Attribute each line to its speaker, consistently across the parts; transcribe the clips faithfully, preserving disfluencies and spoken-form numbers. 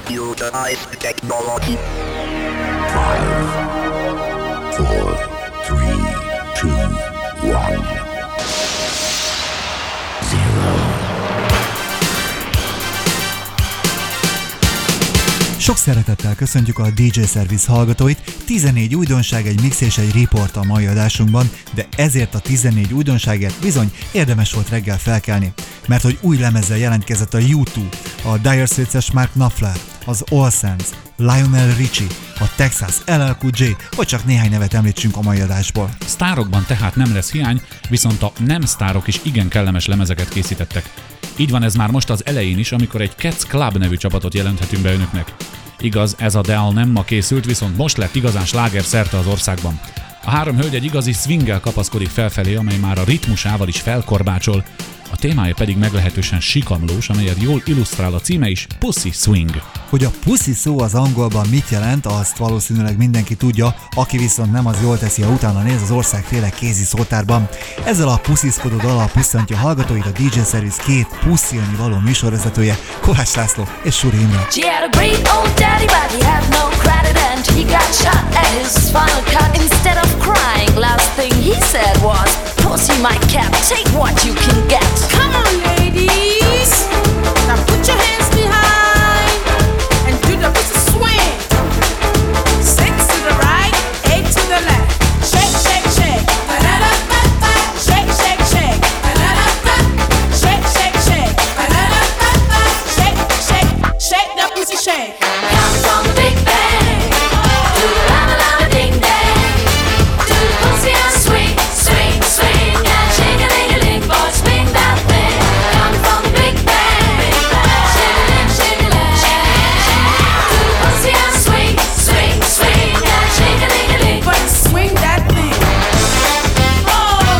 Speaker 1: Computerized technology.
Speaker 2: Five, four, three, two, one, zero.
Speaker 3: Sok szeretettel köszöntjük a dé dzsé Service hallgatóit, tizennégy újdonság, egy mix és egy report a mai adásunkban, de ezért a tizennégy újdonságért bizony érdemes volt reggel felkelni, mert hogy új lemezzel jelentkezett a U kettő, a Dire Straits-es Mark Knopfler, az All Saints, Lionel Richie, a Texas el el Cool J, hogy csak néhány nevet említsünk a mai adásból.
Speaker 4: Sztárokban tehát nem lesz hiány, viszont a nem sztárok is igen kellemes lemezeket készítettek. Így van ez már most az elején is, amikor egy Cats Club nevű csapatot jelenthetünk be önöknek. Igaz, ez a dal nem ma készült, viszont most lett igazán sláger szerte az országban. A három hölgy egy igazi swinggel kapaszkodik felfelé, amely már a ritmusával is felkorbácsol, a témája pedig meglehetősen sikamlós, amelyet jól illusztrál a címe is, Pussy Swing.
Speaker 3: Hogy a pussy szó az angolban mit jelent, azt valószínűleg mindenki tudja, aki viszont nem, az jól teszi, ha utána néz az országféle kézi szótárban. Ezzel a pussziszkodó dallal pusszantja hallgatóit a dé dzsé Service két pusszilni való műsorvezetője, Kovács László és Suri Imre.
Speaker 5: She had a great old daddy, but he had no credit and he got shot at his final cut. Instead of crying, last thing he said was, pussy my cat, take what you can get.
Speaker 6: Come on ladies, now put your hands behind and do the pussy swing. Six to the right, eight to the left. Shake, shake, shake. Shake, shake, shake. Shake, shake, shake. Shake, shake, shake the pussy shake.
Speaker 5: Come from the Big Bang, do the lama lama ding dang, do the pussy and swing, swing, swing, and shake a ling a ling, boy, swing that thing. Come from the Big Bang, shake a ling, shake a ling, do the pussy and swing, swing, swing, and shake a ling a ling.
Speaker 6: But swing that thing. Oh.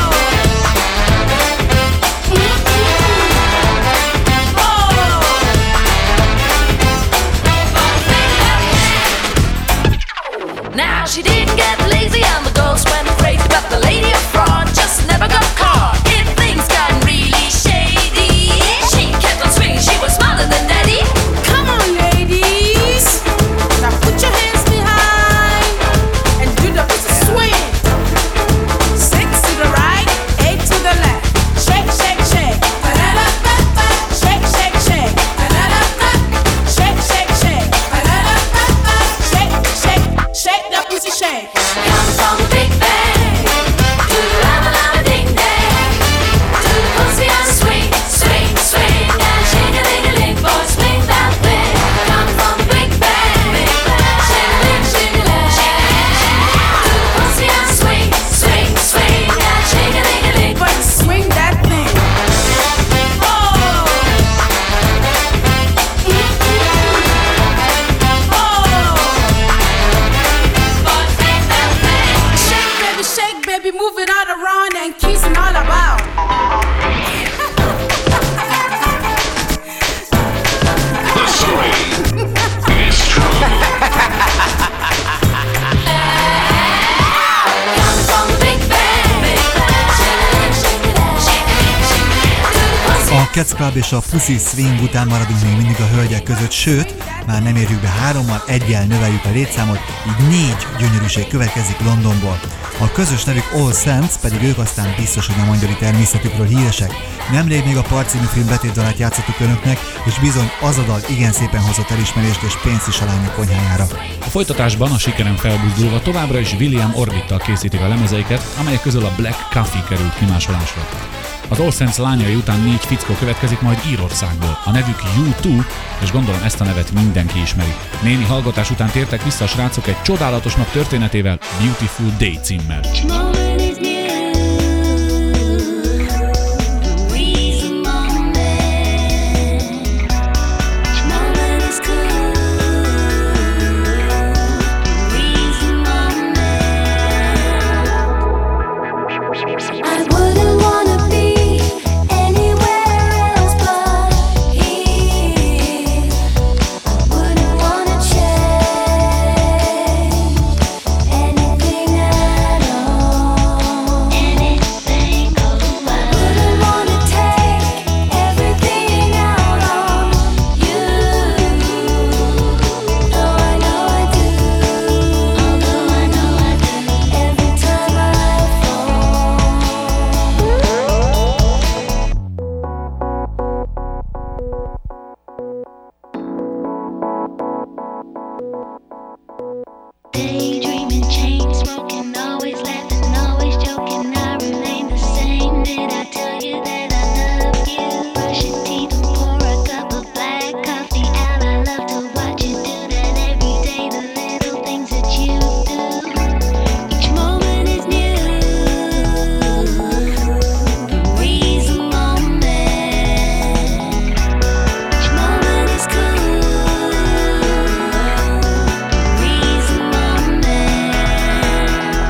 Speaker 5: Now she didn't get lazy and the ghost went crazy, but the lady up front just never got caught. If things got really shady, she kept on swinging, she was smarter than daddy.
Speaker 6: Come on ladies, now put your hands behind and do the pussy swing. Six to the right, eight to the left. Shake, shake, shake. Shake, shake, shake. Shake, shake, shake. Shake, shake, shake the pussy shake.
Speaker 5: Come from the Big Bang, do the lama lama ding dang, do the pussy and swing, swing, swing, and shake a ling a ling, boy, swing that thing. Come from the Big Bang, shake a ling, shake a ling, do the pussy and swing, swing, swing, and shake a ling a ling.
Speaker 6: But swing that thing. Oh. Shake, baby, shake, baby, move it all around and kiss 'em all about.
Speaker 2: The swing is true.
Speaker 5: Come from the Big Bang, shake a ling, shake a ling, shake a ling, shake a ling, do the pussy.
Speaker 3: A Cats Club és a Pussy Swing után maradunk még mindig a hölgyek között, sőt, már nem érjük be hárommal, egyel növeljük a létszámot, így négy gyönyörűség következik Londonból. A közös nevük All Saints, pedig ők aztán biztos, hogy nem angyali természetükről híresek. Nemrég még a Part című film betétdalát játszottuk önöknek, és bizony az a dal igen szépen hozott elismerést és pénzt is a lányok konyhájára.
Speaker 4: A folytatásban a sikeren felbuzdulva továbbra is William Orbittal készítik a lemezeiket, amelyek közül a Black Coffee került kimásolásra. Az All Saints lányai után négy fickó következik majd Írországból. A nevük U kettő, és gondolom ezt a nevet mindenki ismeri. Némi hallgatás után tértek vissza a srácok egy csodálatos nap történetével, Beautiful Day címmel.
Speaker 7: Anything at all.
Speaker 5: daydreaming, chain smoking, always laughing, always joking. I remain the same. Did I tell you that I love you? Brush your teeth and pour a cup of black coffee out. I love to watch you do that every day. The little things that you do. Each moment is new. Breeze a moment. Each moment is cool. Breeze a moment.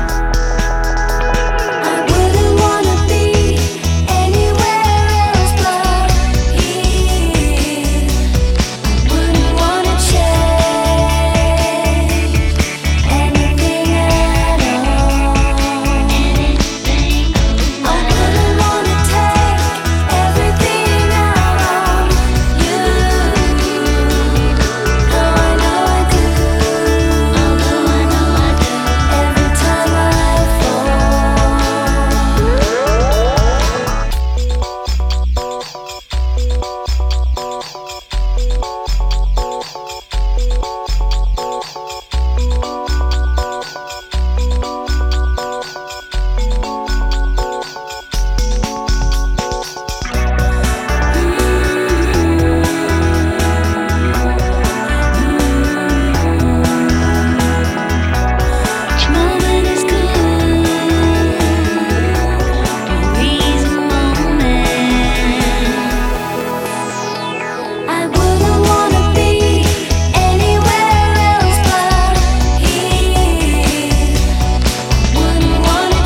Speaker 5: I wouldn't wanna be anywhere else but here. I wouldn't wanna change anything at all. I wouldn't wanna take everything out on you. Though I know I do. Although I know I do. Every time I fall. Each moment is cool. Breeze a moment. I wouldn't wanna be anywhere else but here. Wouldn't wanna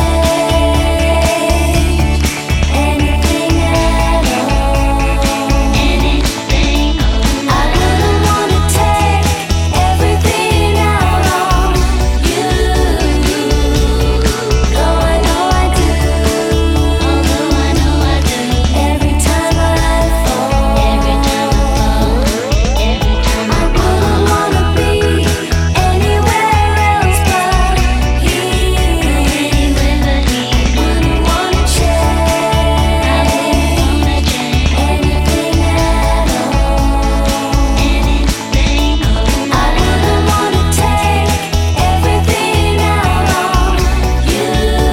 Speaker 5: change anything at all. Anything. I wouldn't wanna take everything out on you. Though I know I do. Although I know I do. Every time I fall. Every time I fall. Every time I wouldn't wanna be anywhere else but here. Wouldn't wanna change anything at all. Anything. I wouldn't wanna take everything out on you.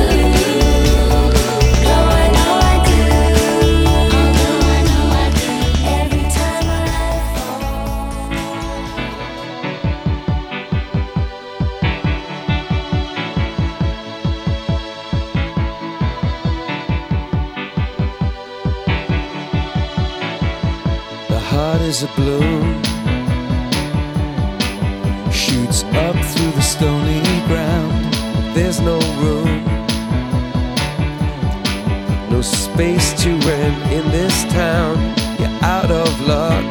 Speaker 5: Though I know I do. Although I know I do. Every time I
Speaker 7: The heart is a bloom, shoots up through the stony ground. There's no room, no space to rent in this town. You're out of luck,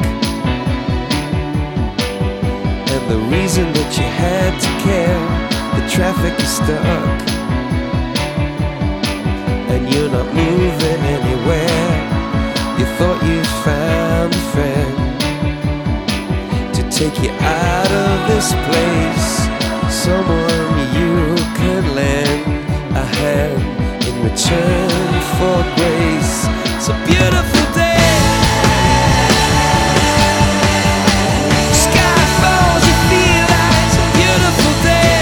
Speaker 7: and the reason that you had to care, the traffic is stuck, and you're not moving anywhere. You thought you found a friend to take you out of this place, someone you could lend a hand in return for grace. It's a beautiful day. Sky falls, you feel like it's a beautiful day.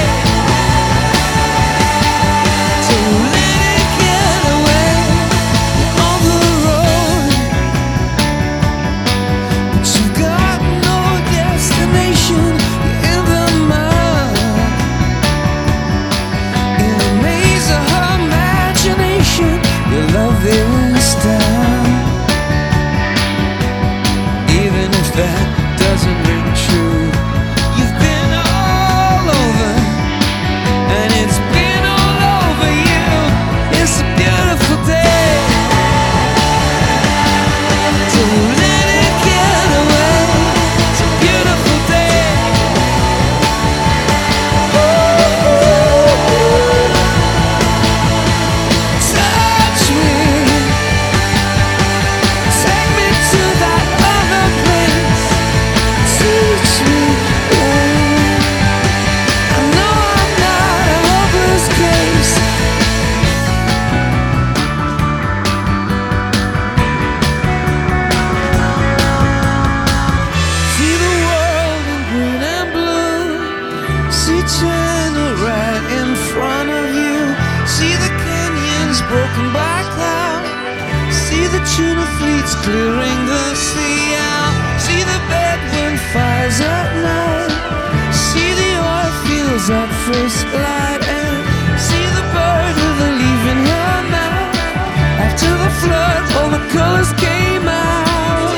Speaker 7: So let it get away on the road. But you've got no destination, you're in the mud. clearing the sea out. See the bedroom fires at night. See the oil fields at first light. And see the bird with a leaf in her mouth. After the flood, all the colors came out.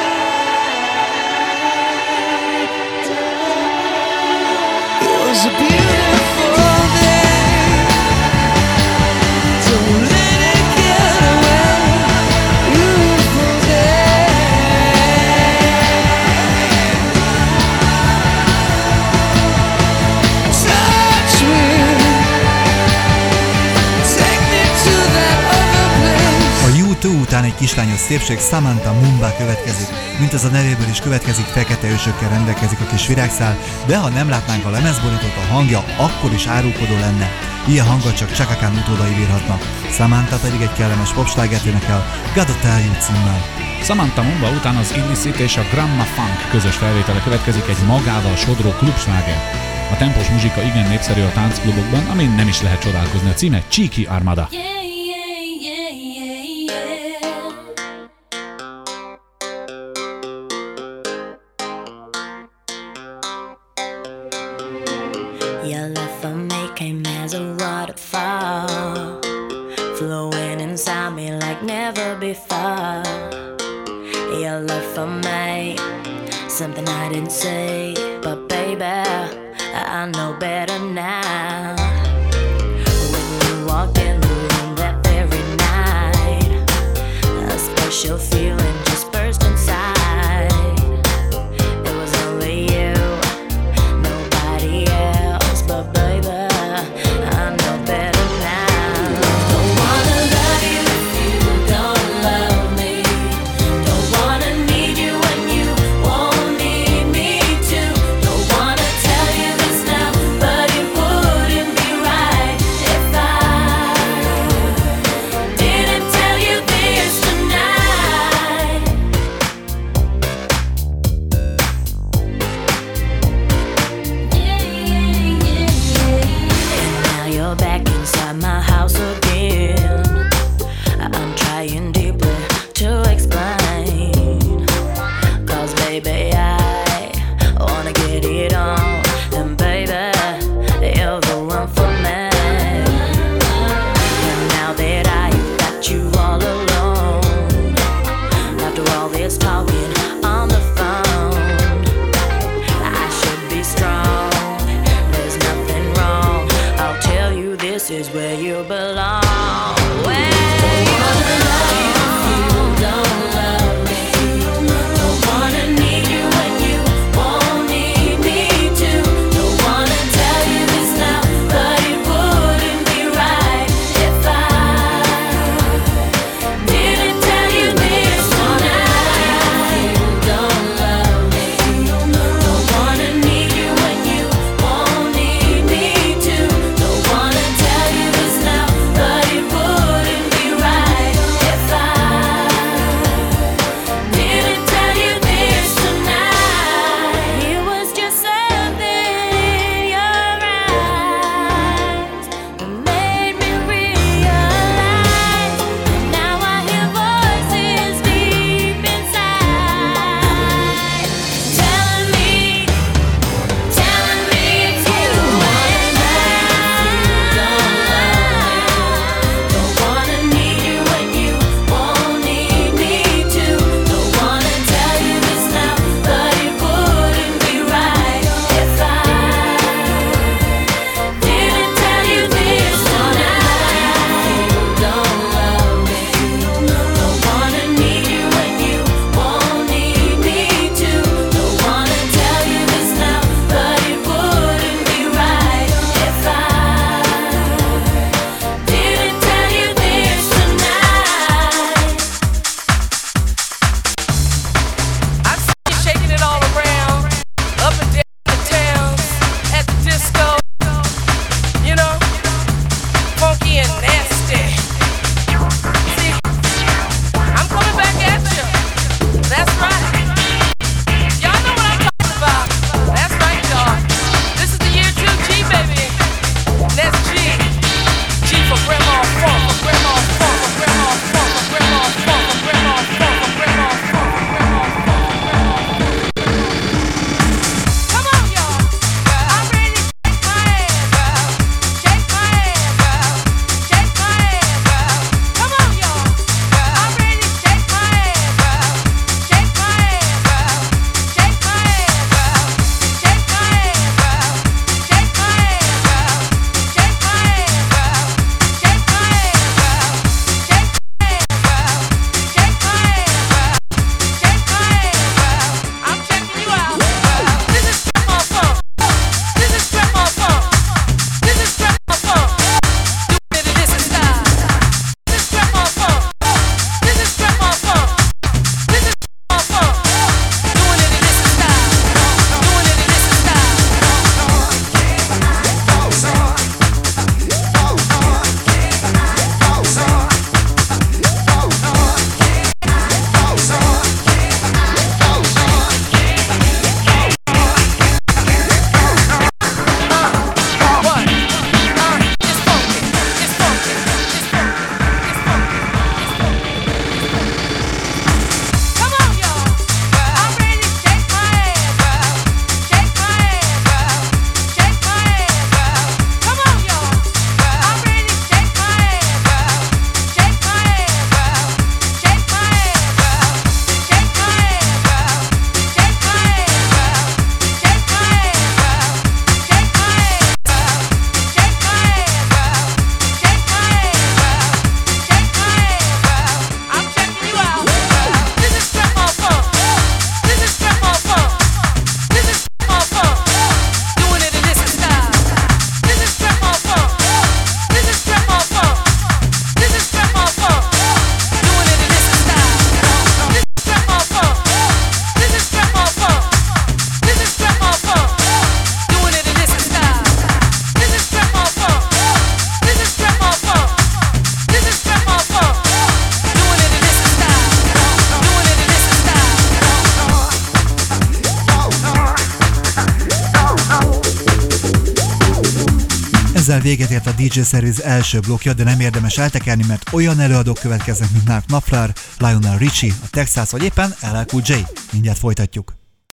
Speaker 7: It was a beautiful day. Don't let it get away. Beautiful day. Touch me. Take me to that other place.
Speaker 3: A U kettő után egy kislányos szépség, Samantha Mumba következik. Mint az a nevéből is következik, fekete ősökkel rendelkezik a kis virágszál, de ha nem látnánk a lemezborítót, a hangja akkor is árulkodó lenne. Ilyen hangot csak Chaka Khan utódai bírhatnak. Samantha pedig egy kellemes popslágert énekel, Gotta Tell You címmel.
Speaker 4: Samantha Mumba után az Illicit és a Gramma Funk közös felvétele következik, egy magával sodró klubsláger. A tempós muzsika igen népszerű a táncklubokban, amin nem is lehet csodálkozni. A címe Cheeky Armada.
Speaker 5: Yeah, yeah, yeah, yeah, yeah. Your love for me came as a waterfall, flowing inside me like never before. Your love for me, something I didn't say, but baby, I know better now. When you walked in the room that very night, a special feeling just burst inside. It was only you, nobody else, but baby, I know better now. Don't wanna love you if you don't love me. Don't wanna need you when you won't need me to. Don't wanna tell you this now, but it wouldn't be right if I didn't tell you this tonight.
Speaker 3: Ezzel véget ért a dé dzsé Service első blokkja, de nem érdemes eltekerni, mert olyan előadók következnek, mint Mark Knopfler, Lionel Richie, a Texas vagy éppen el el Cool J. Mindjárt folytatjuk.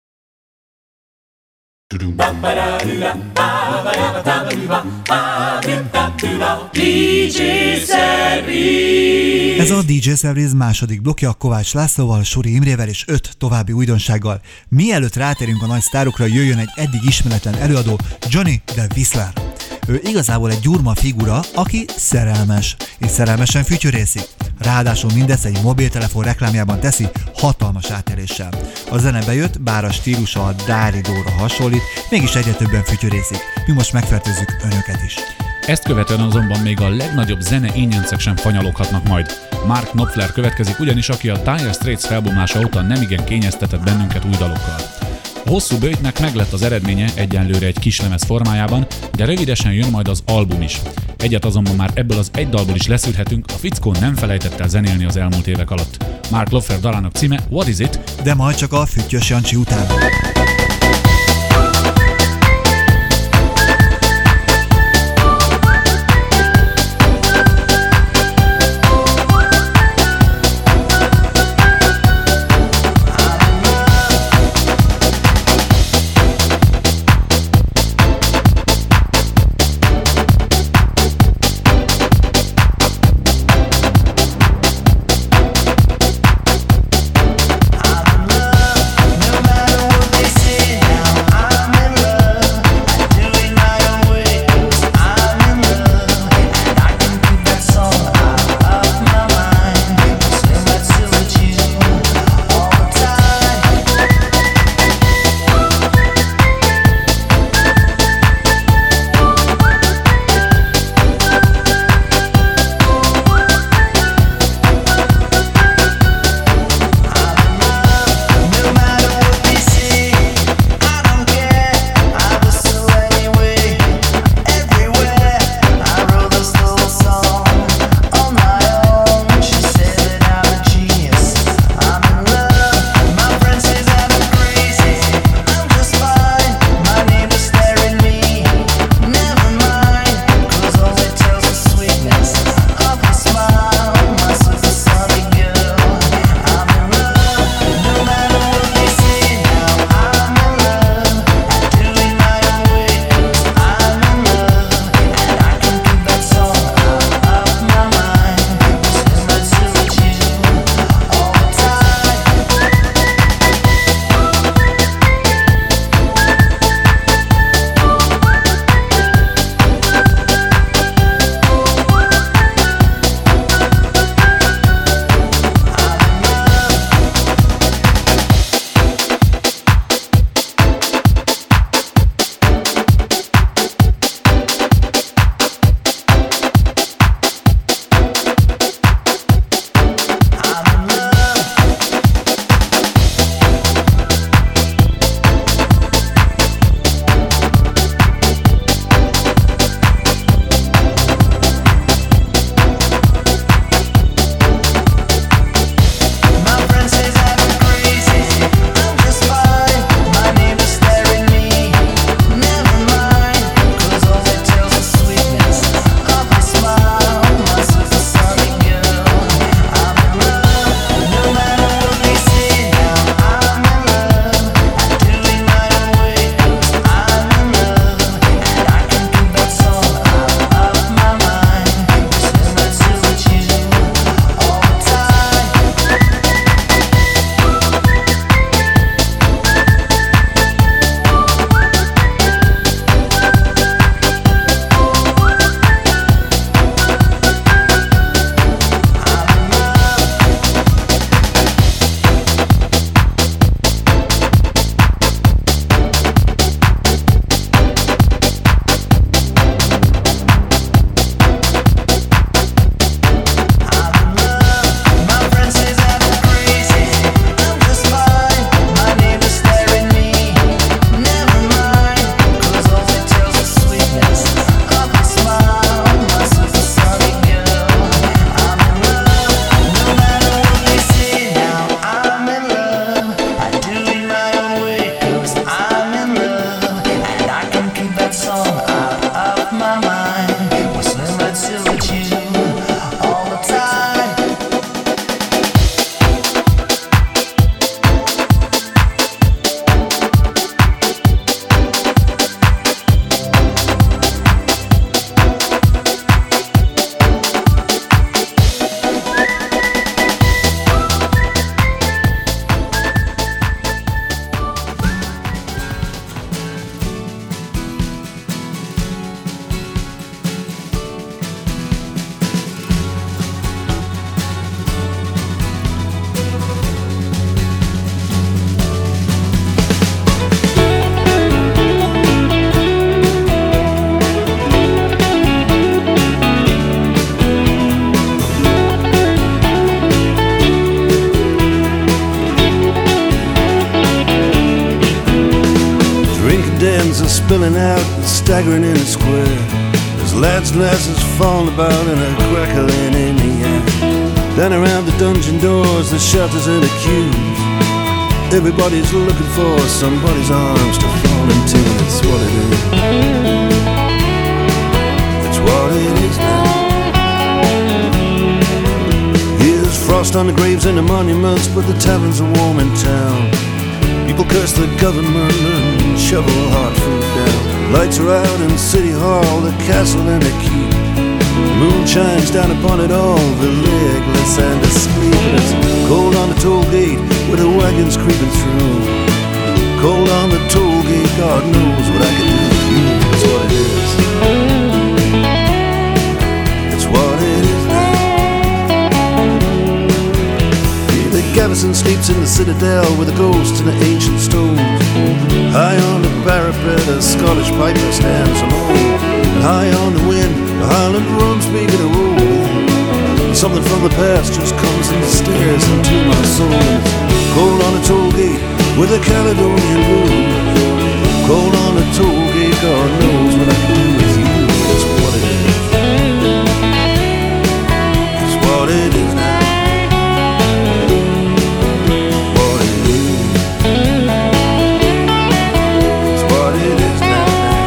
Speaker 5: dé dzsé Service.
Speaker 3: Ez a dé dzsé Service második blokja Kovács Lászlóval, Suri Imrével és öt további újdonsággal. Mielőtt rátérünk a nagy sztárokra, jöjjön egy eddig ismeretlen előadó, Johnny de Whistler. Ő igazából egy gyurma figura, aki szerelmes, és szerelmesen fütyörészik. Ráadásul mindezt egy mobiltelefon reklámjában teszi hatalmas átéréssel. A zene bejött, bár a stílusa a Dáridóra hasonlít, mégis egyre többen fütyörészik. Mi most megfertőzzük önöket is.
Speaker 4: Ezt követően azonban még a legnagyobb zene ényencek sem fanyaloghatnak majd. Mark Knopfler következik, ugyanis aki a Dire Straits felbomlása óta nemigen kényeztetett bennünket új dalokkal. A hosszú böjtnek meglett az eredménye egyenlőre egy kislemez formájában, de rövidesen jön majd az album is. Egyet azonban már ebből az egy dalból is leszűrhetünk, a fickó nem felejtett el zenélni az elmúlt évek alatt. Mark Knopfler dalának címe What Is It?
Speaker 3: De majd csak a Füttyös Jancsi után.
Speaker 8: No matter what they hands are spilling out and staggering in the square. There's lads and lasses falling about and a crackling in the air. Down around the dungeon doors, the shelters and the queues, everybody's looking for somebody's arms to fall into. That's what it is. That's what it is now. Here's frost on the graves and the monuments, but the taverns are warm in town. People curse the government and shovel hard food down. Lights are out in City Hall, the castle and the keep. The moon shines down upon it all, the legless and the sleepless. Cold on the toll gate with the wagons creeping through. Cold on the toll gate, God knows what I can do with you. That's what it is. That's what it is now. Yeah, the garrison sleeps in the citadel with the ghosts and the ancient stones. High on the parapet, a Scottish piper stands alone. And high on the wind, the Highland drums begin to roll. Something from the past just comes and stares into my soul. Cold on the toll gate with a Caledonian blue. Cold on the toll gate, God knows what I can do with you. That's what it is. That's what it is now. What it is. That's what it is now.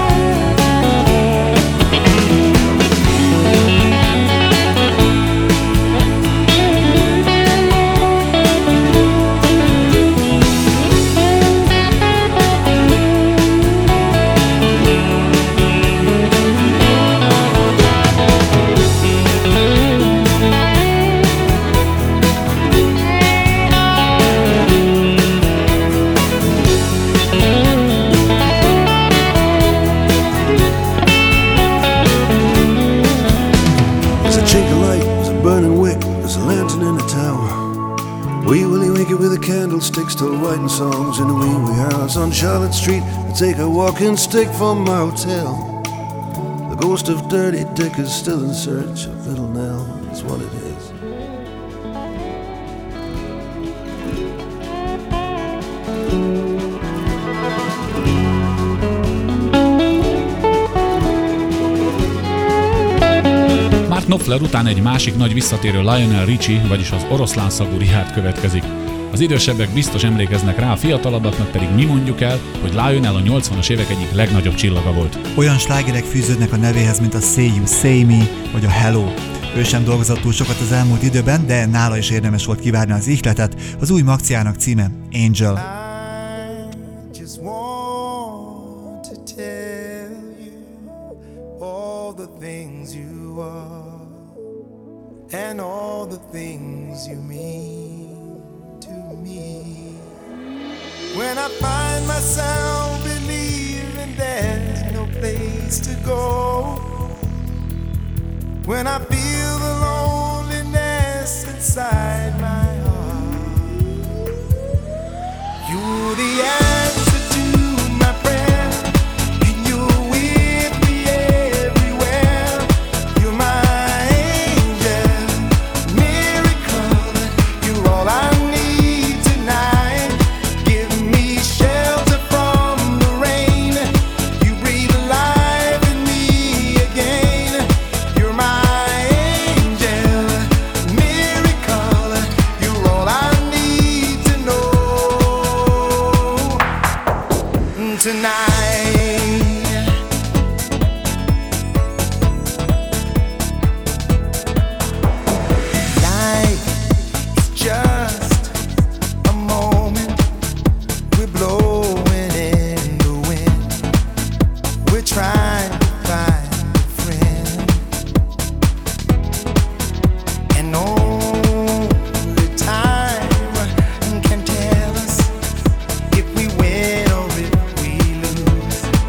Speaker 8: Candlesticks still writing songs in a wee wee house on Charlotte Street. I take a walking stick from my hotel. The ghost of Dirty Dick is still in search of Little Nell. That's what it is.
Speaker 4: Mark Knopfler után egy másik nagy visszatérő Lionel Richie, vagyis az oroszlán szagú Richard következik. Az idősebbek biztos emlékeznek rá, a fiatalabbaknak pedig mi mondjuk el, hogy Lionel a nyolcvanas évek egyik legnagyobb csillaga volt.
Speaker 3: Olyan slágerek fűződnek a nevéhez, mint a Say You Say Me, vagy a Hello. Ő sem dolgozott túl sokat az elmúlt időben, de nála is érdemes volt kivárni az ihletet. Az új maxjának címe Angel.
Speaker 9: I just want to tell you all the things you are and all the things you mean to me. When I find myself believing there's no place to go, when I feel the loneliness inside my heart, you're the answer to my prayer, and you're with me everywhere. You're my angel, miracle, you're all I need tonight. Give me shelter from the rain, you breathe life in me again. You're my angel, miracle, you're all I need to know tonight. Life is just a moment, we're blowing in the wind, we're trying to find a friend, and only time can tell us if we win or if we lose.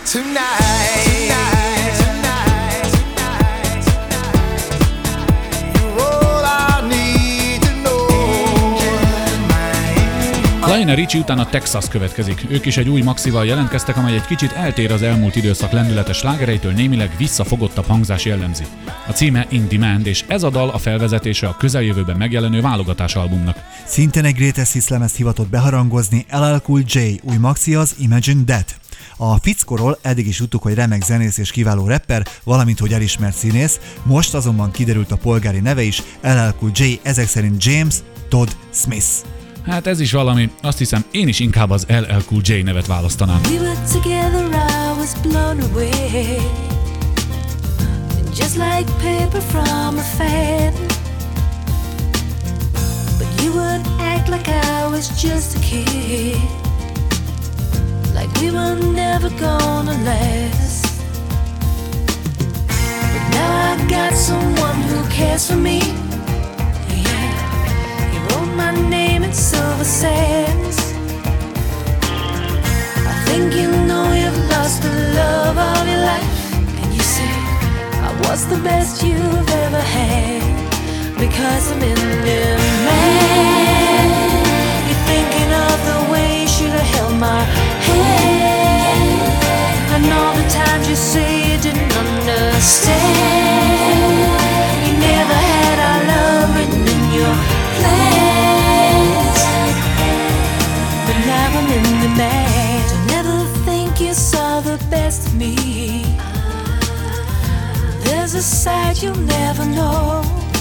Speaker 9: tonight. Tonight, tonight, tonight, tonight. You're all I need to know.
Speaker 4: Lionel Richie után a Texas következik. Ők is egy új maxival jelentkeztek, amely egy kicsit eltér az elmúlt időszak lendületes slágereitől, némileg visszafogottabb hangzás jellemzi. A címe In Demand, és ez a dal a felvezetése a közeljövőben megjelenő válogatás albumnak.
Speaker 3: Szintén egy Greatest Hits lemezt hivatott beharangozni el el Cool J, új maxi az Imagine That. A fickóról eddig is tudtuk, hogy remek zenész és kiváló rapper, valamint hogy elismert színész, most azonban kiderült a polgári neve is, el el Cool J, ezek szerint James Todd Smith.
Speaker 4: Hát ez is valami, azt hiszem én is inkább az el el Cool J nevet választanám.
Speaker 5: We were together, I was blown away. Just like paper from a fan. But you would act like I was just a kid. Like we were never gonna last. But now I got someone who cares for me. Yeah, he wrote my name in silver sands. I think you know you've lost the love of your life. And you say I was the best you've ever had. Because I'm in demand. You're thinking of the way you should have held my hand. And all the times you say you didn't understand. You never had our love written in your plans. But now I'm in demand. Don't never think you saw the best of me. There's a side you'll never know.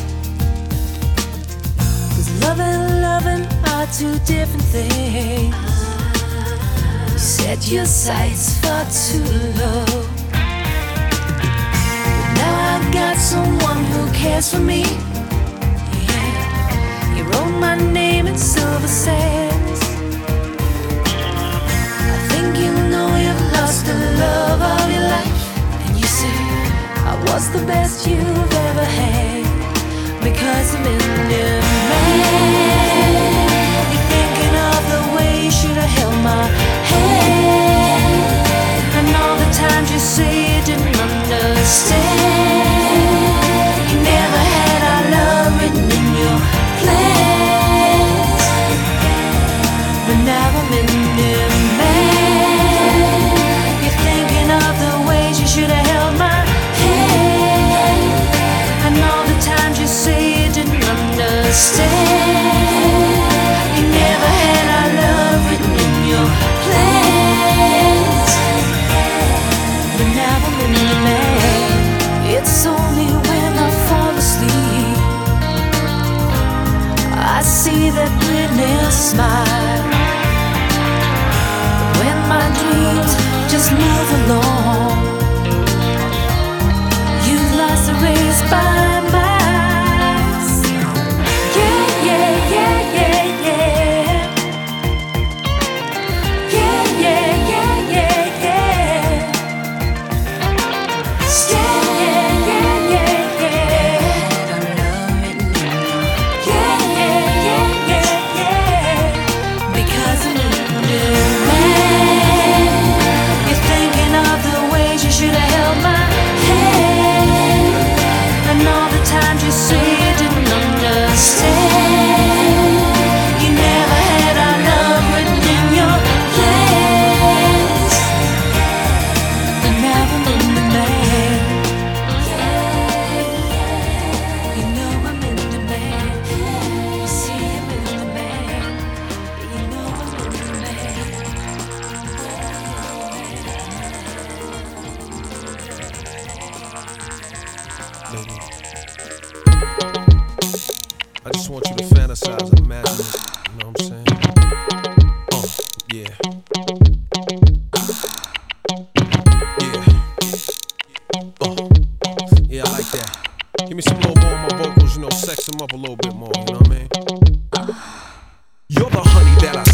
Speaker 5: Love and loving are two different things. You set your sights far too low. But now I've got someone who cares for me. Yeah, you wrote my name in silver sands. I think you know you've lost the love of your life. And you say I was the best you've ever had. Because I'm in demand. You're thinking of the way you should have held my hand. And all the times you say you didn't understand. You never had our love written in your plans. But now I'm in demand. You're thinking of the ways you should have held my hand. And all the times you say you didn't understand. You never had our love written in your plans. But now I'm in demand. It's only when I fall asleep I see that witness smile. When my dreams just move along, you've lost the race by my
Speaker 7: You're the honey that I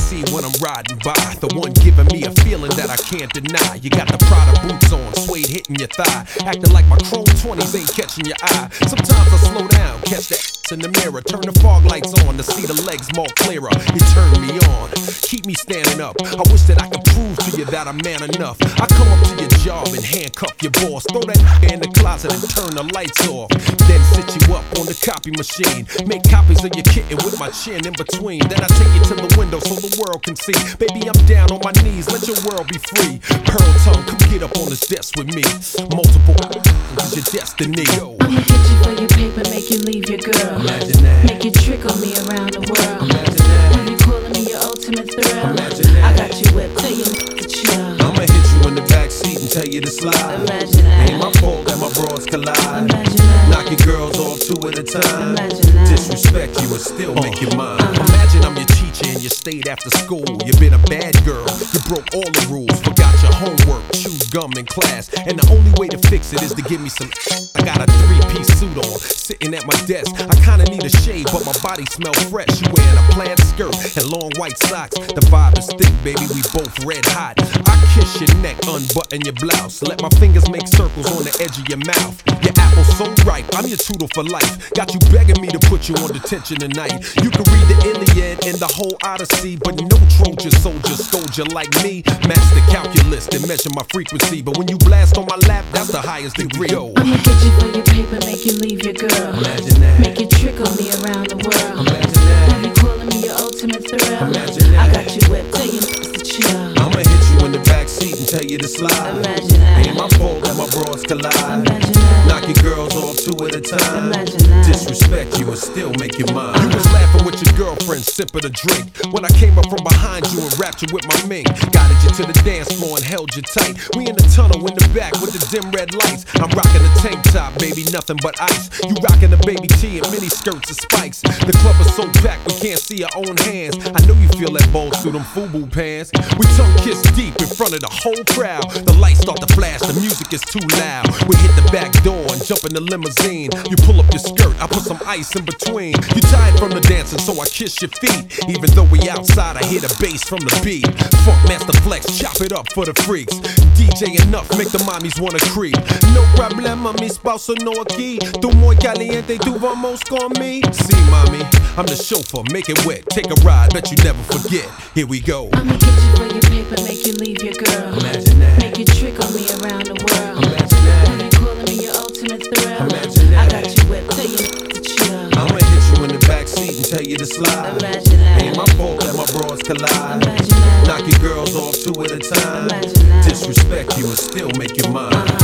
Speaker 10: see when I'm riding by. The one giving me a feeling that I can't deny. You got the Prada boots on, suede hitting your thigh. Acting like my chrome twenties ain't catching your eye. Sometimes I slow down, catch the in the mirror. Turn the fog lights on to see the legs more clearer. You turn me on, keep me standing up. I wish that I could prove to you that I'm man enough. I come up to your job and handcuff your boss. Throw that in the closet and turn the lights off. Then sit you up on the copy machine. Make copies of your kitten with my chin in between. Then I take you to the window so the world can see. Baby, I'm down on my knees, let your world be free. Pearl tongue, come get up on this desk with me. Multiple is your destiny.
Speaker 11: I'ma get you for your paper, make you leave your girl.
Speaker 10: Imagine that.
Speaker 11: Make you trickle me around the world.
Speaker 10: Imagine that.
Speaker 11: Have you calling me your ultimate thrill?
Speaker 10: Imagine that.
Speaker 11: I got you whipped, tell you to chill.
Speaker 10: I'ma hit you in the backseat and tell you to slide.
Speaker 11: Imagine that.
Speaker 10: Ain't my fault that my bros collide.
Speaker 11: Imagine that.
Speaker 10: Knock your girls off two at a time.
Speaker 11: Imagine that.
Speaker 10: Disrespect you and still make you mine. Imagine I'm your teacher and you stayed after school. You been a bad girl, you broke all the rules. Forgot your homework, chewed gum in class. And the only way to fix it is to give me some. I got a three-piece suit on, sitting at my desk. I kinda need a shave, but my body smell fresh. You wearing a plaid skirt and long white socks. The vibe is thick, baby, we both red hot. I kiss your neck, unbutton your blouse. Let my fingers make circles on the edge of your mouth. Your apple's so ripe, I'm your tutor for life. Got you begging me to put you on detention tonight. You can read the Iliad and the whole Odyssey, but no Trojan soldier soldier like me. Master calculus to measure my frequency, but when you blast on my lap, that's the highest degree. Yo.
Speaker 11: I'ma get you for your paper, make you leave your girl.
Speaker 10: Imagine that.
Speaker 11: Make you trickle me around the world.
Speaker 10: Imagine that.
Speaker 11: Have you calling me your ultimate thrill?
Speaker 10: Imagine that.
Speaker 11: I got you whipped, tell you to chill.
Speaker 10: I'ma hit you in the backseat and tell you to slide.
Speaker 11: Imagine that.
Speaker 10: Ain't my fault that my bros collide.
Speaker 11: Imagine that.
Speaker 10: Knock your girls off two at a time.
Speaker 11: Imagine that.
Speaker 10: Disrespect you and still make you mine. You was laughing with your girlfriend, sipping a drink. When I came up from behind you and wrapped you with my mink. Guided you to the dance floor and held you tight. We in the tunnel in the back with the dim red lights. I'm rocking the tank top, baby, nothing but ice. You rocking the baby tee and mini skirts and spikes. The club is so packed we can't see our own hands. I know you feel that ball through them FUBU pants. We tongue kiss deep in front of the whole crowd. The lights start to flash, the music is too loud. We hit the back door and jump in the limousine. You pull up your skirt, I put some ice in between. You tired from the dancing, so I kiss your feet. Even though we outside, I hear the bass from the beat. Funk Master Flex, chop it up for the freaks. D J enough, make the mommies wanna creep. No problema, mi spouse no aquí. Tu muy caliente, tu vamos con me. See, mommy, I'm the chauffeur, make it wet. Take a ride, bet you never forget. Here we go.
Speaker 11: I'ma get you for your paper, make you leave your girl.
Speaker 10: Imagine that.
Speaker 11: Make you trickle me around the world.
Speaker 10: Imagine that.
Speaker 11: Have you calling me your ultimate thrill?
Speaker 10: Imagine that.
Speaker 11: I got you whipped, tell you to chill.
Speaker 10: I'ma hit you in the backseat and tell you to slide.
Speaker 11: Imagine that.
Speaker 10: Ain't my fault that my bros collide.
Speaker 11: Imagine that.
Speaker 10: Knock your girls off two at a time.
Speaker 11: Imagine that.
Speaker 10: Disrespect you and still make you mine.
Speaker 11: Uh-huh.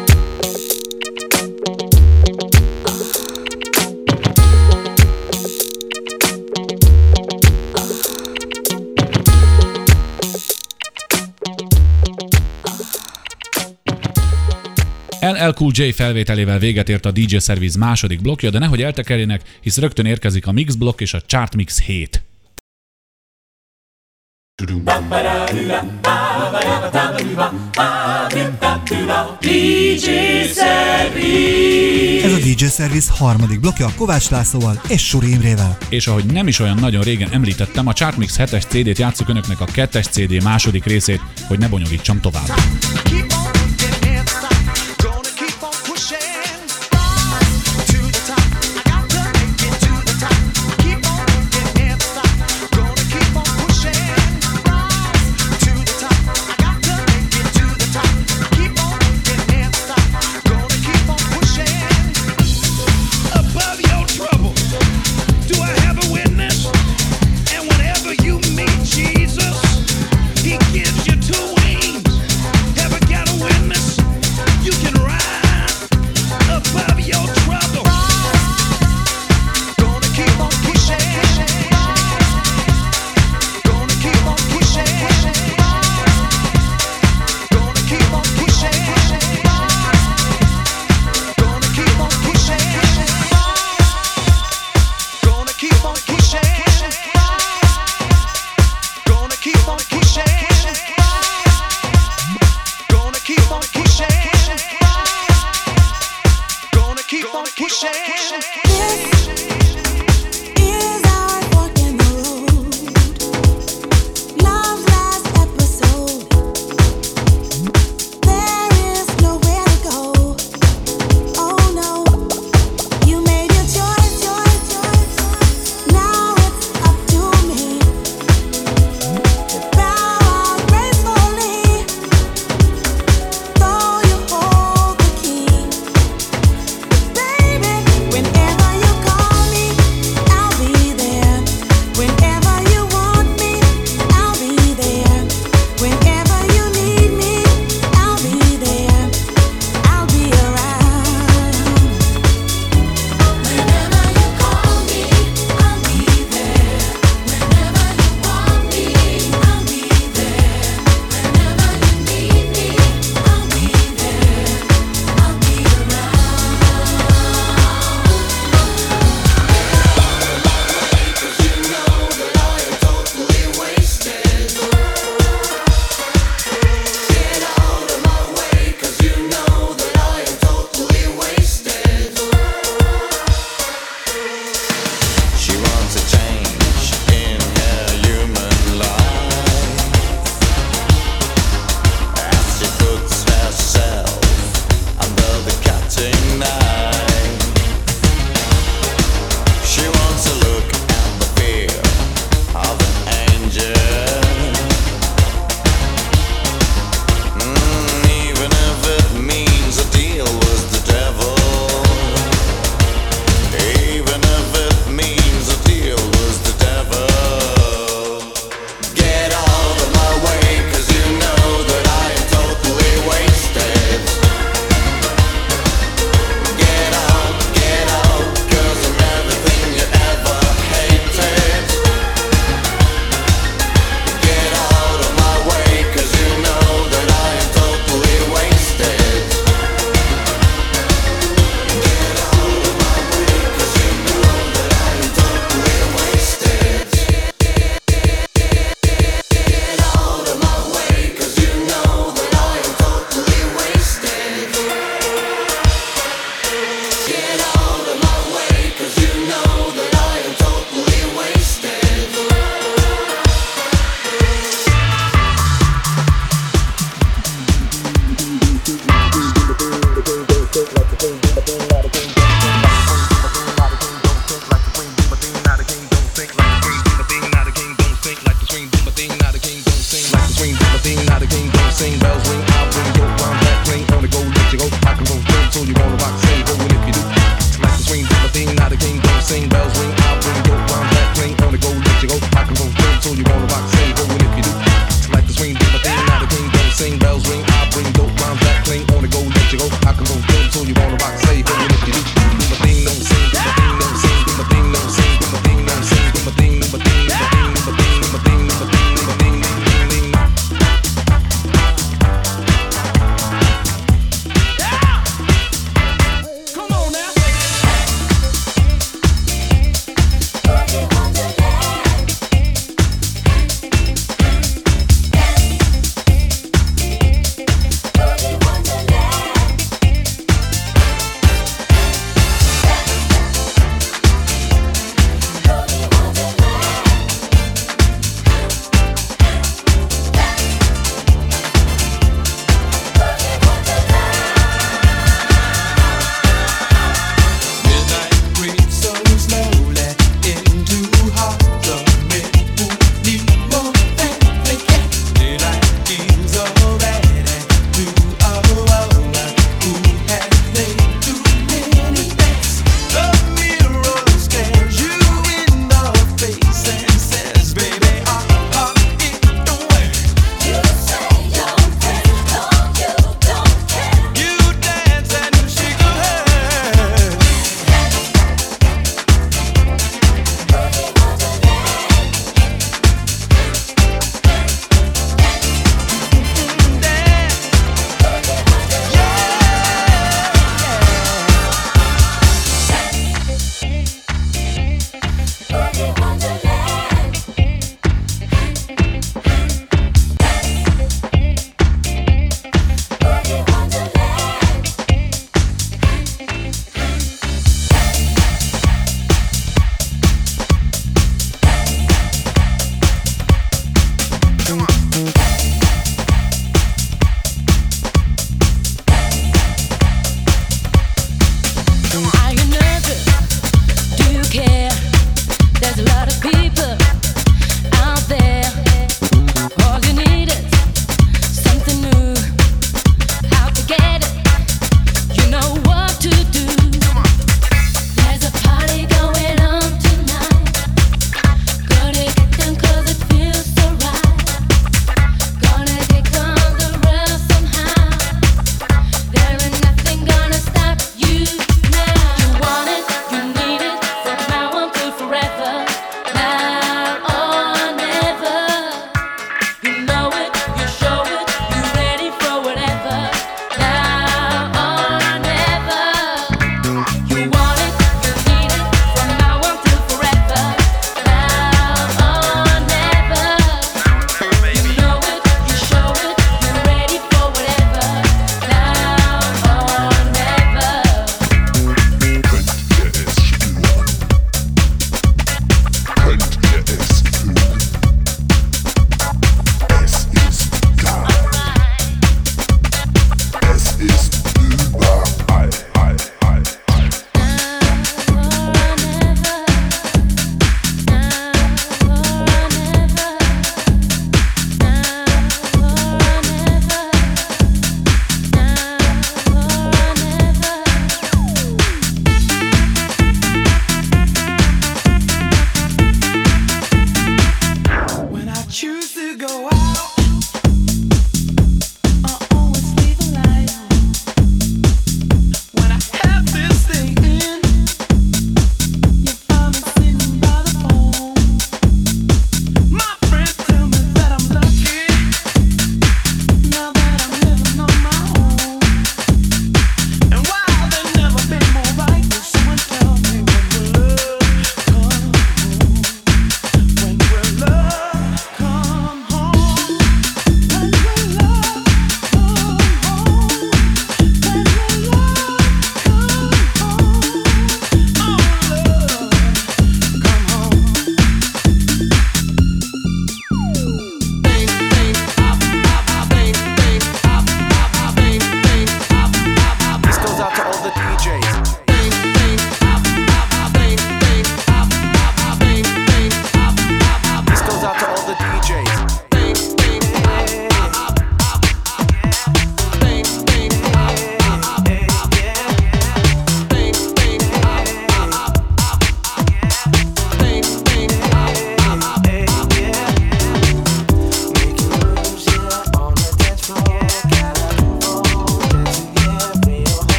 Speaker 4: el el Cool J felvételével véget ért a dé dzsé Service második blokkja, de nehogy eltekerjenek, hisz rögtön érkezik a Mix blokk és a Chart Mix hét.
Speaker 5: dé dzsé Service.
Speaker 3: Ez a dé dzsé Service harmadik blokkja Kovács Lászlóval és Suri Imrével.
Speaker 4: És ahogy nem is olyan nagyon régen említettem, a Chart Mix hetes cé dét játsszuk önöknek a kettes cé dé második részét, hogy ne bonyolítsam tovább.
Speaker 9: Jesus, he gives you two wings. Ever got a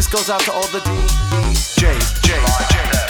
Speaker 12: This goes out to all the D Js, Js, Js.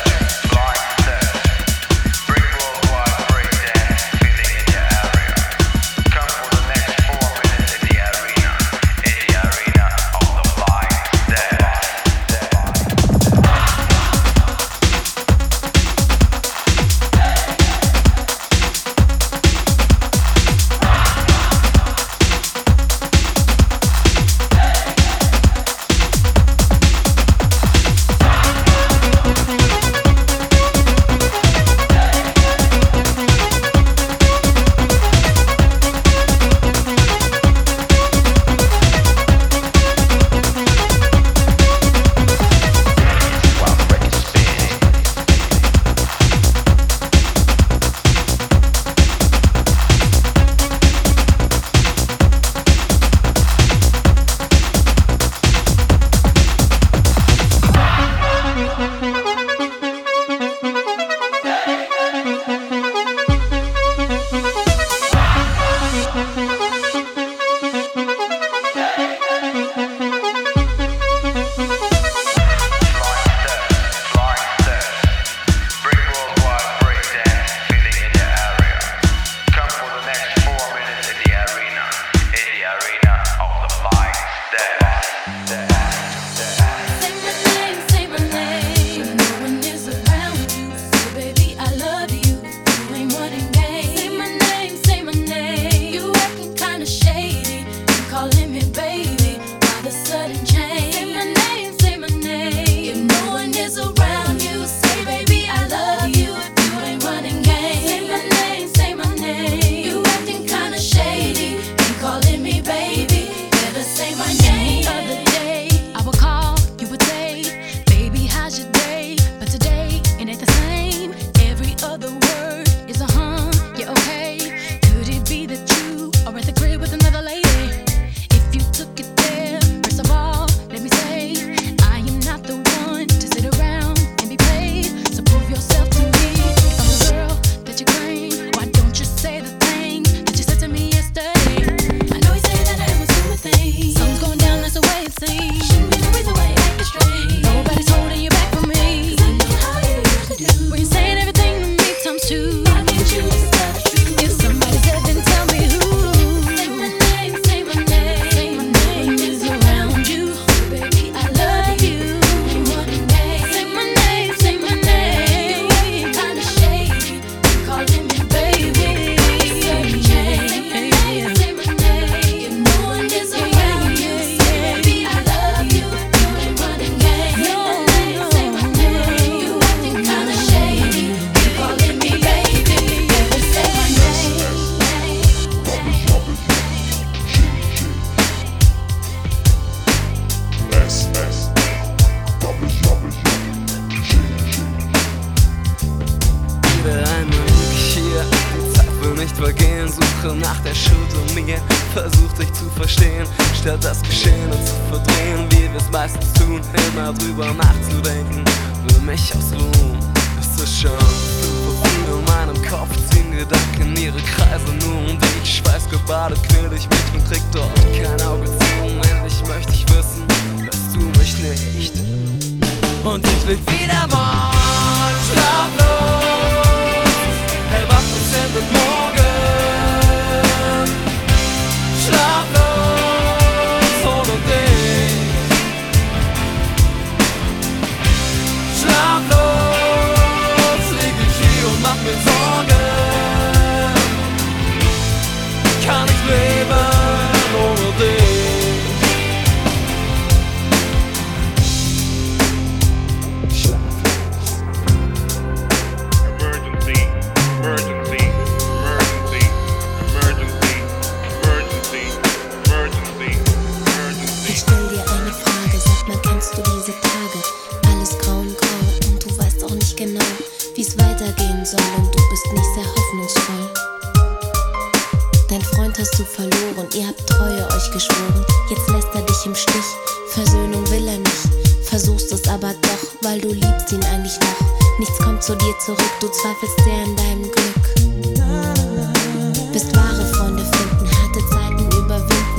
Speaker 13: Du zweifelst sehr an deinem Glück. Bist wahre Freunde finden, harte Zeiten überwinden. Du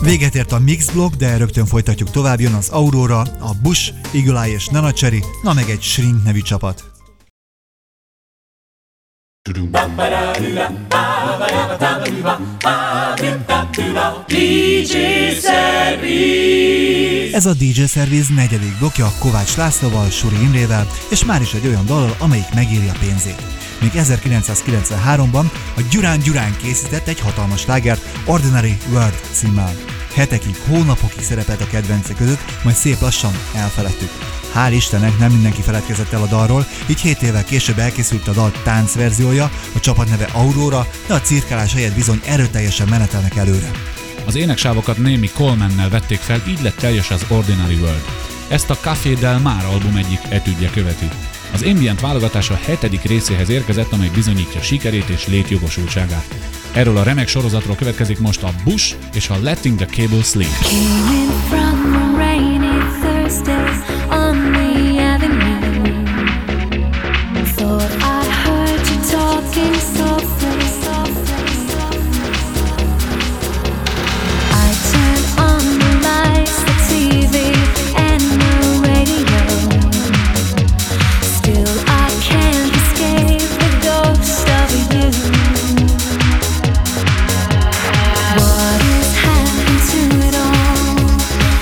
Speaker 3: Véget ért a Mix Block, de rögtön folytatjuk tovább, jön az Aurora, a Bush, Eagle Eye és Nana Cherry, na meg egy Shrink nevű csapat.
Speaker 5: dé dzsé Service.
Speaker 3: Ez a dé dzsé Service negyedik blokja Kovács Lászlóval, Suri Imrével, és már is egy olyan dallal, amelyik megéri a pénzét. Még ezerkilencszázkilencvenháromban a Gyurán Gyurán készített egy hatalmas slágert Ordinary World címmel. Hetekig, hónapokig szerepelt a kedvencek között, majd szép lassan elfeledtük. Hál' Istennek nem mindenki feledkezett el a dalról, így hét évvel később elkészült a dal táncverziója, a csapat neve Aurora, de a cirkálás helyett bizony erőteljesen menetelnek előre.
Speaker 4: Az éneksávokat némi Colemannel vették fel, így lett teljes az Ordinary World. Ezt a Café Del Mar album egyik etüdje követi. Az ambient válogatása hetedik részéhez érkezett, amely bizonyítja sikerét és létjogosultságát. Erről a remek sorozatról következik most a Bush és a Letting the Cable Sleep.
Speaker 5: What has happened to it all?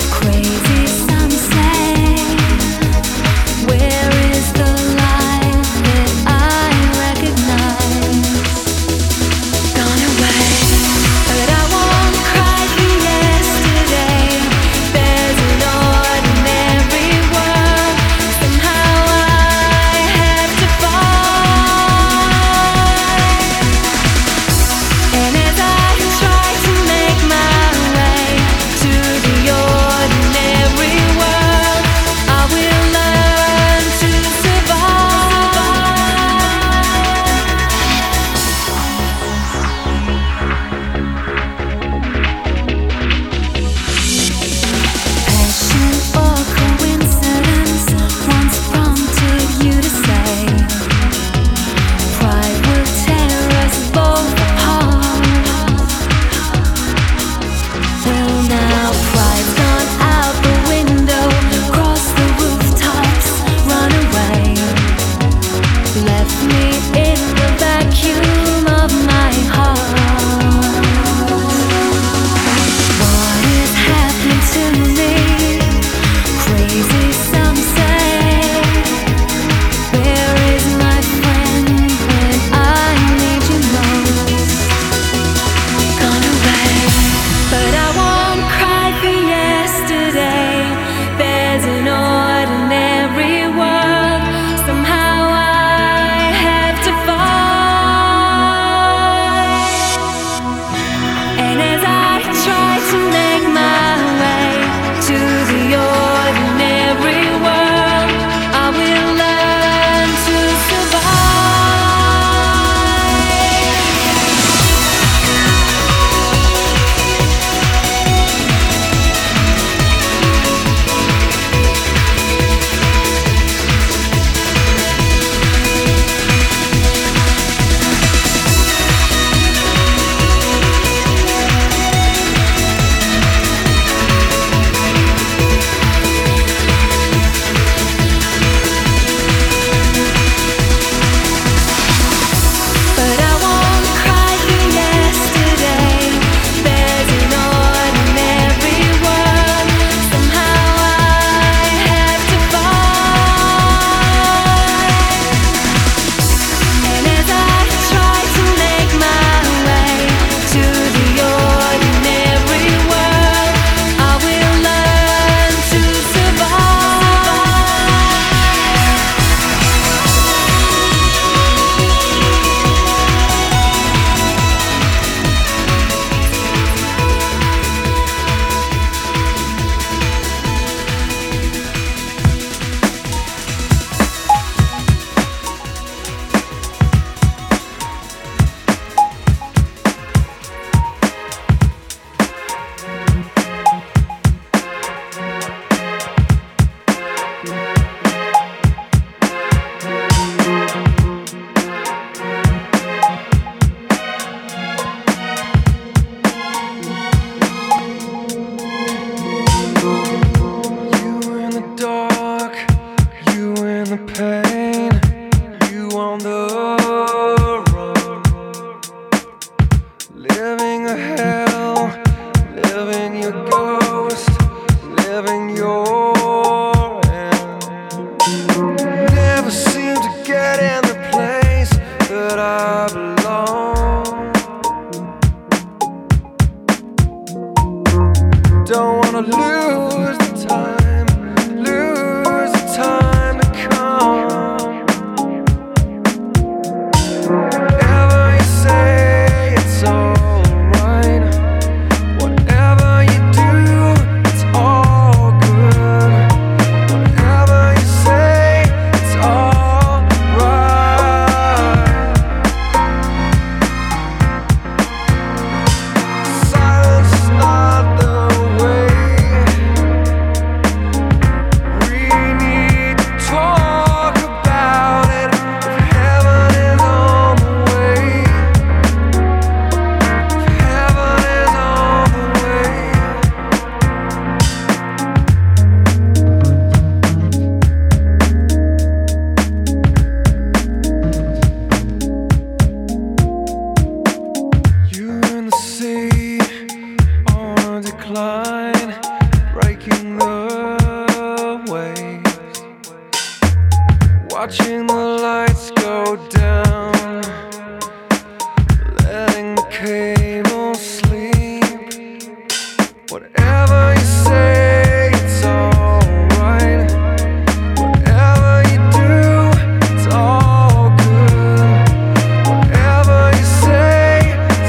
Speaker 7: watching the lights go down, letting the cable sleep. Whatever you say, it's alright. Whatever you do, it's all good. Whatever you say, it's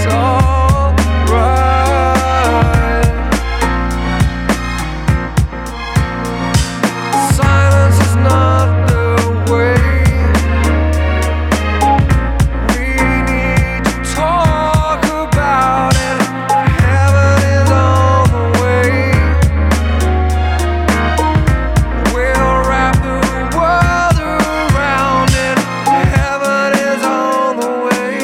Speaker 7: alright. Silence is not the way. We need to talk about it. Heaven is on the way. We'll wrap the world around it. Heaven is on the way.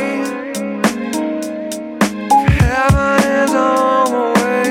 Speaker 7: Heaven is on the way.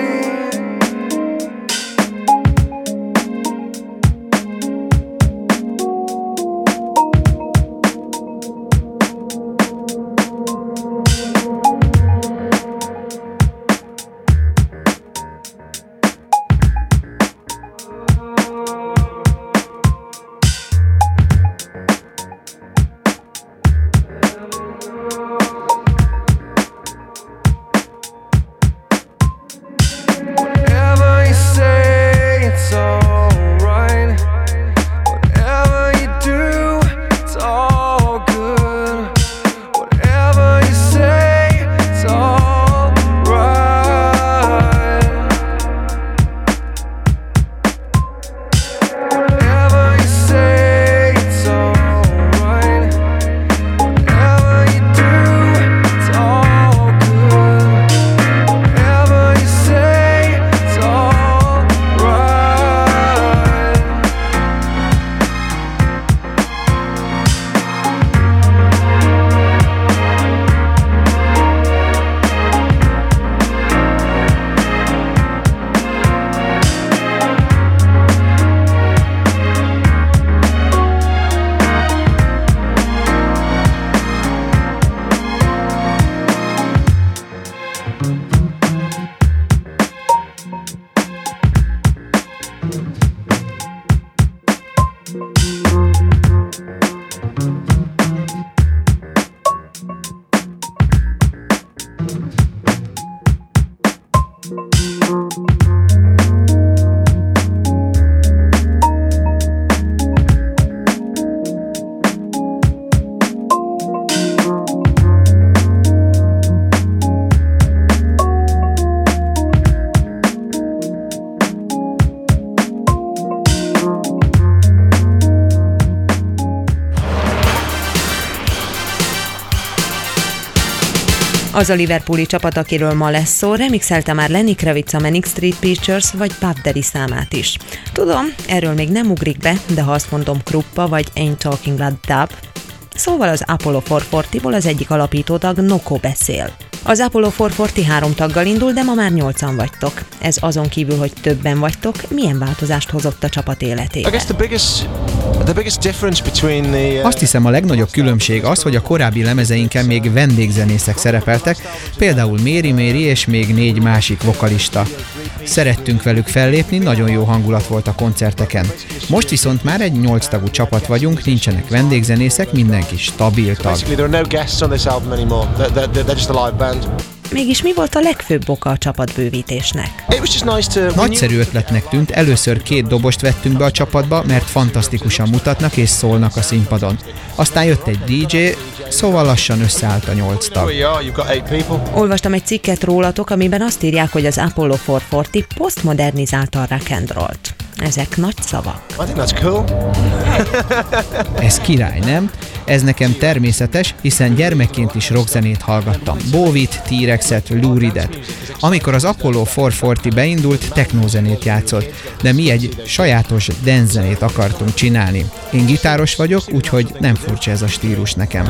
Speaker 7: Whatever you say, it's alright. Whatever you do, it's all good. Whatever you say, it's alright. Whatever you say, it's alright. Whatever you do, it's all good. Whatever you say, it's alright.
Speaker 14: Az a liverpooli csapat, akiről ma lesz szó, remixelte már Lenny Kravitz a Manic Street Preachers vagy Puff Daddy számát is. Tudom, erről még nem ugrik be, de ha azt mondom Kruppa vagy Ain't Talking Like Dub, szóval az Apollo négyszázharmincból az egyik alapítótag Noko beszél. Az Apollo négyszázharminc három taggal indul, de ma már nyolcan vagytok. Ez azon kívül, hogy többen vagytok, milyen változást hozott a csapat életébe?
Speaker 15: Azt hiszem, a legnagyobb különbség az, hogy a korábbi lemezeinken még vendégzenészek szerepeltek, például Méri Méri és még négy másik vokalista. Szerettünk velük fellépni, nagyon jó hangulat volt a koncerteken. Most viszont már egy nyolc tagú csapat vagyunk, nincsenek vendégzenészek, mindenki stabil tag.
Speaker 14: Mégis mi volt a legfőbb oka a csapatbővítésnek?
Speaker 15: Nagyszerű ötletnek tűnt, először két dobost vettünk be a csapatba, mert fantasztikusan mutatnak és szólnak a színpadon. Aztán jött egy dé dzsé, szóval lassan összeállt a nyolc tag.
Speaker 14: Olvastam egy cikket rólatok, amiben azt írják, hogy az Apollo négyszázharminc posztmodernizálta a rock and rollt. Ezek nagy szavak.
Speaker 15: Ez király, nem? Ez nekem természetes, hiszen gyermekként is rockzenét hallgattam. Bowit, T-Rexet, Lou Reedet. Amikor az Apollo négyszázharminc beindult, technózenét játszott, de mi egy sajátos dance zenét akartunk csinálni. Én gitáros vagyok, úgyhogy nem furcsa ez a stílus nekem.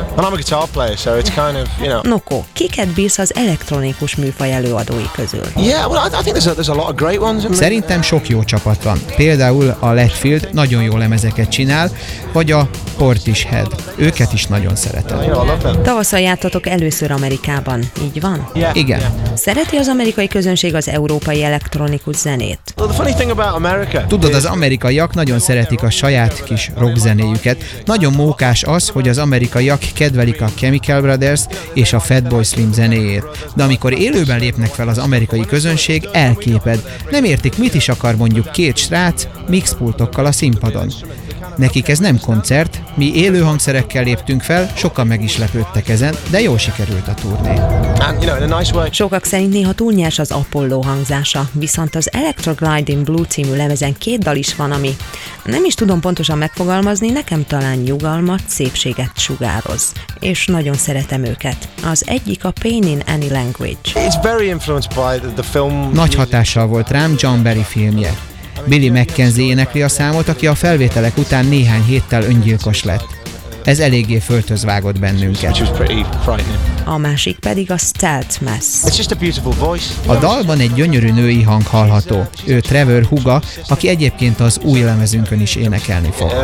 Speaker 14: Noko, kiket bírsz az elektronikus műfaj előadói közül?
Speaker 15: Szerintem sok jó csapat van. Például a Letfield nagyon jó lemezeket csinál, vagy a Portishead. Őket is nagyon szeretem.
Speaker 14: Tavasszal jártatok először Amerikában, így van?
Speaker 15: Igen.
Speaker 14: Szereti az amerikai közönség az európai elektronikus zenét?
Speaker 15: Tudod, az amerikaiak nagyon szeretik a saját kis rockzenéjüket. Nagyon mókás az, hogy az amerikaiak kedvelik a Chemical Brothers és a Fatboy Slim zenéjét. De amikor élőben lépnek fel az amerikai közönség, elképed. Nem értik, mit is akar mondjuk két srác mixpultokkal a színpadon. Nekik ez nem koncert, mi élő hangszerekkel léptünk fel, sokan meg is lepődtek ezen, de jól sikerült a turné.
Speaker 14: Sokak szerint néha túl nyers az Apollo hangzása, viszont az Electrogliding Blue című lemezen két dal is van, ami nem is tudom pontosan megfogalmazni, nekem talán nyugalmat, szépséget sugároz. És nagyon szeretem őket. Az egyik a Pain in Any Language.
Speaker 15: Nagy hatással volt rám John Barry filmje. Billy McKenzie énekli a számot, aki a felvételek után néhány héttel öngyilkos lett. Ez eléggé föltöz vágott bennünket.
Speaker 14: A másik pedig a Stealth Mass.
Speaker 15: A dalban egy gyönyörű női hang hallható. Ő Trevor húga, aki egyébként az új lemezünkön is énekelni fog.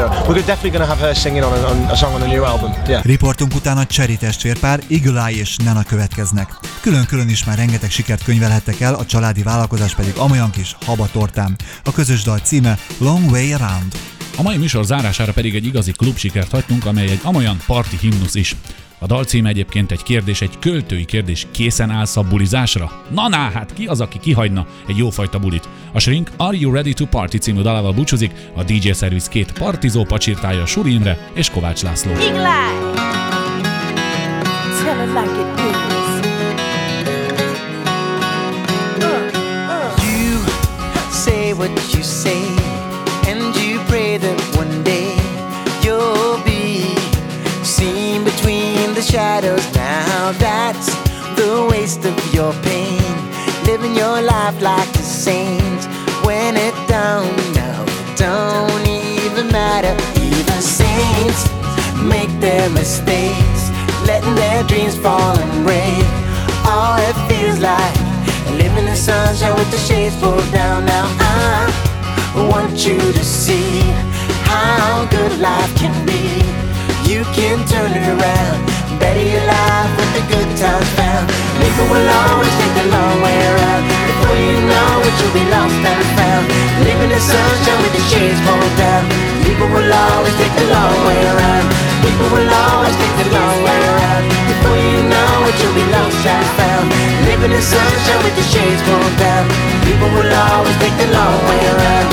Speaker 3: Riportunk után a Cherry testvérpár, Eagle Eye és Nena következnek. Külön-külön is már rengeteg sikert könyvelhettek el, a családi vállalkozás pedig amolyan kis habatortám. A közös dal címe Long Way Around.
Speaker 4: A mai műsor zárására pedig egy igazi klubsikert hagytunk, amely egy amolyan parti himnusz is. A dal címe egyébként egy kérdés, egy költői kérdés: készen állsz a bulizásra? Na ná, hát ki az, aki kihagyna egy jófajta bulit? A Shrink Are You Ready to Party című dalával búcsúzik, a dé dzsé Service két partizó pacsirtája Suri Imre és Kovács László.
Speaker 16: You say what you say, and you pray that one day you'll be seen between the shadows. Now that's the waste of your pain, living your life like a saint. When it don't, no, it don't even matter. Even saints make their mistakes, letting their dreams fall and break. All it feels like living in sunshine with the shades pulled down. Now I want you to see how good life can be. You can turn it around, better your life with the good times found. People will always take the long way around. Before you know it, you'll be lost and found. Living in sunshine with the shades pulled down. People will always take the long way around. People will always take the long way around. Before you know it, you'll be lost and found. Living in sunshine with the shades pulled down. People will always take the long way around.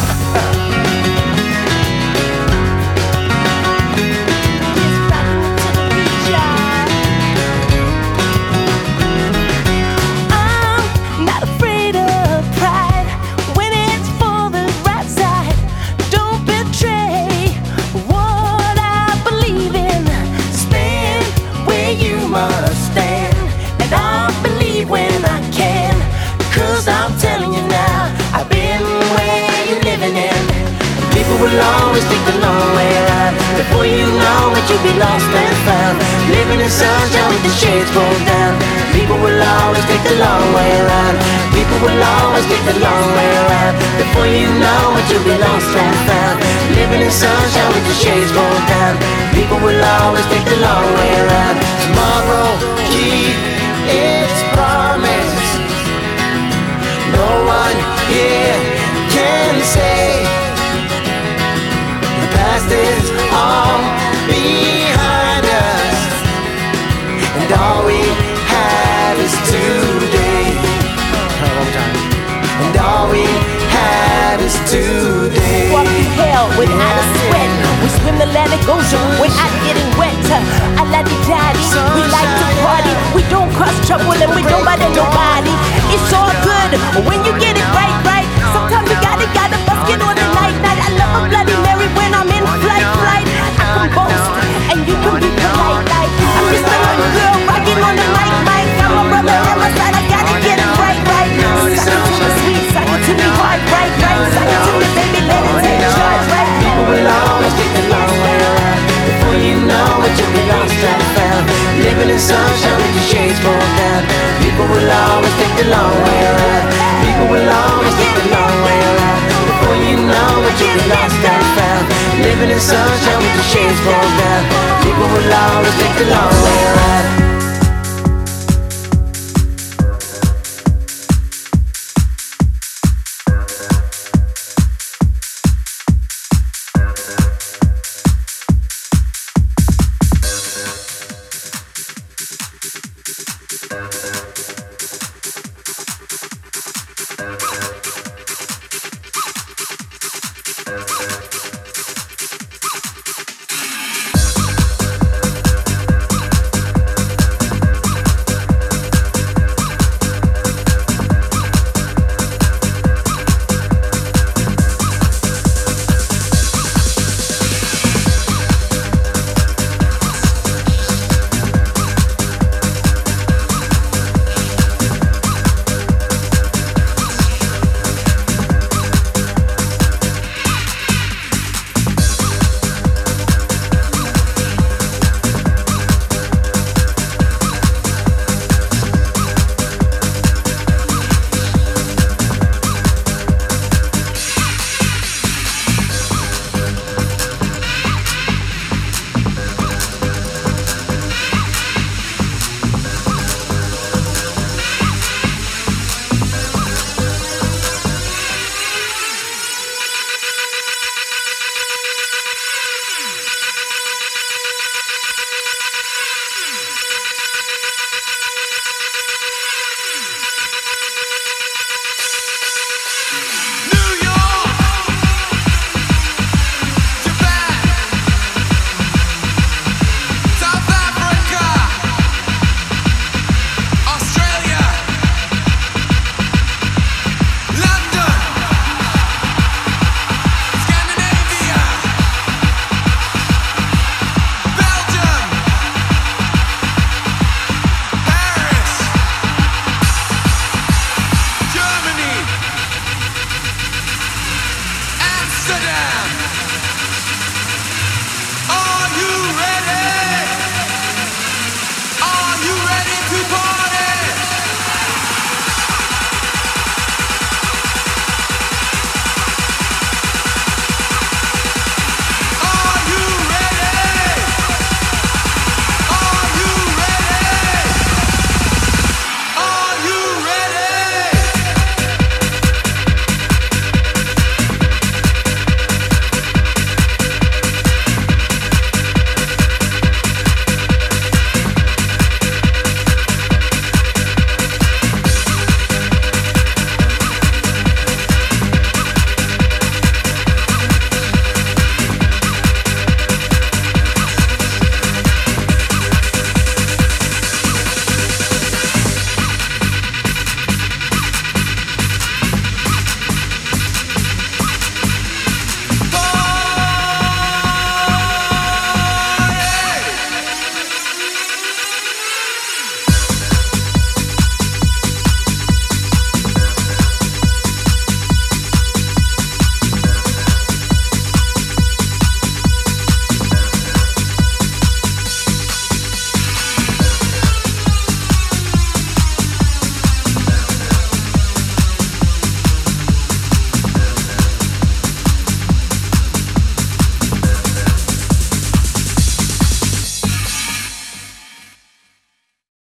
Speaker 16: Will always take the long way around. Before you know it, you'll be lost and found. Living in sunshine with the shades pulled down. People will always take the long way around. People will always take the long way around. Before you know it, you'll be lost and found. Living in sunshine with the shades pulled down. People will always take the long way around. Tomorrow, keep its promise. No one here can say past is all behind us, and all we have is today. And all we have is today.
Speaker 6: Walk through hell without a sweat. We swim the Atlantic Ocean without getting wet. I like the daddy, we like to party. We don't cross trouble and we don't bother nobody. It's all good when you get it right, right. Sometimes you gotta, gotta bust it on the night, night. I love a Bloody Mary when I'm in flight, flight. I can boast and you can be polite, like I'm just a young girl rocking on the mic, mic. I'm a brother on my side, I gotta get it right, right. Suck it to me sweet, suck it to me hard, right, right. Suck it to me baby, let it take charge, right.
Speaker 16: People will always take the long way around. Before you know it, you'll be lost and found. Living in sunshine with your shades pulled down. People will always take the long way around. People will living in sunshine with the shades rolled down. People with laws take the long way around.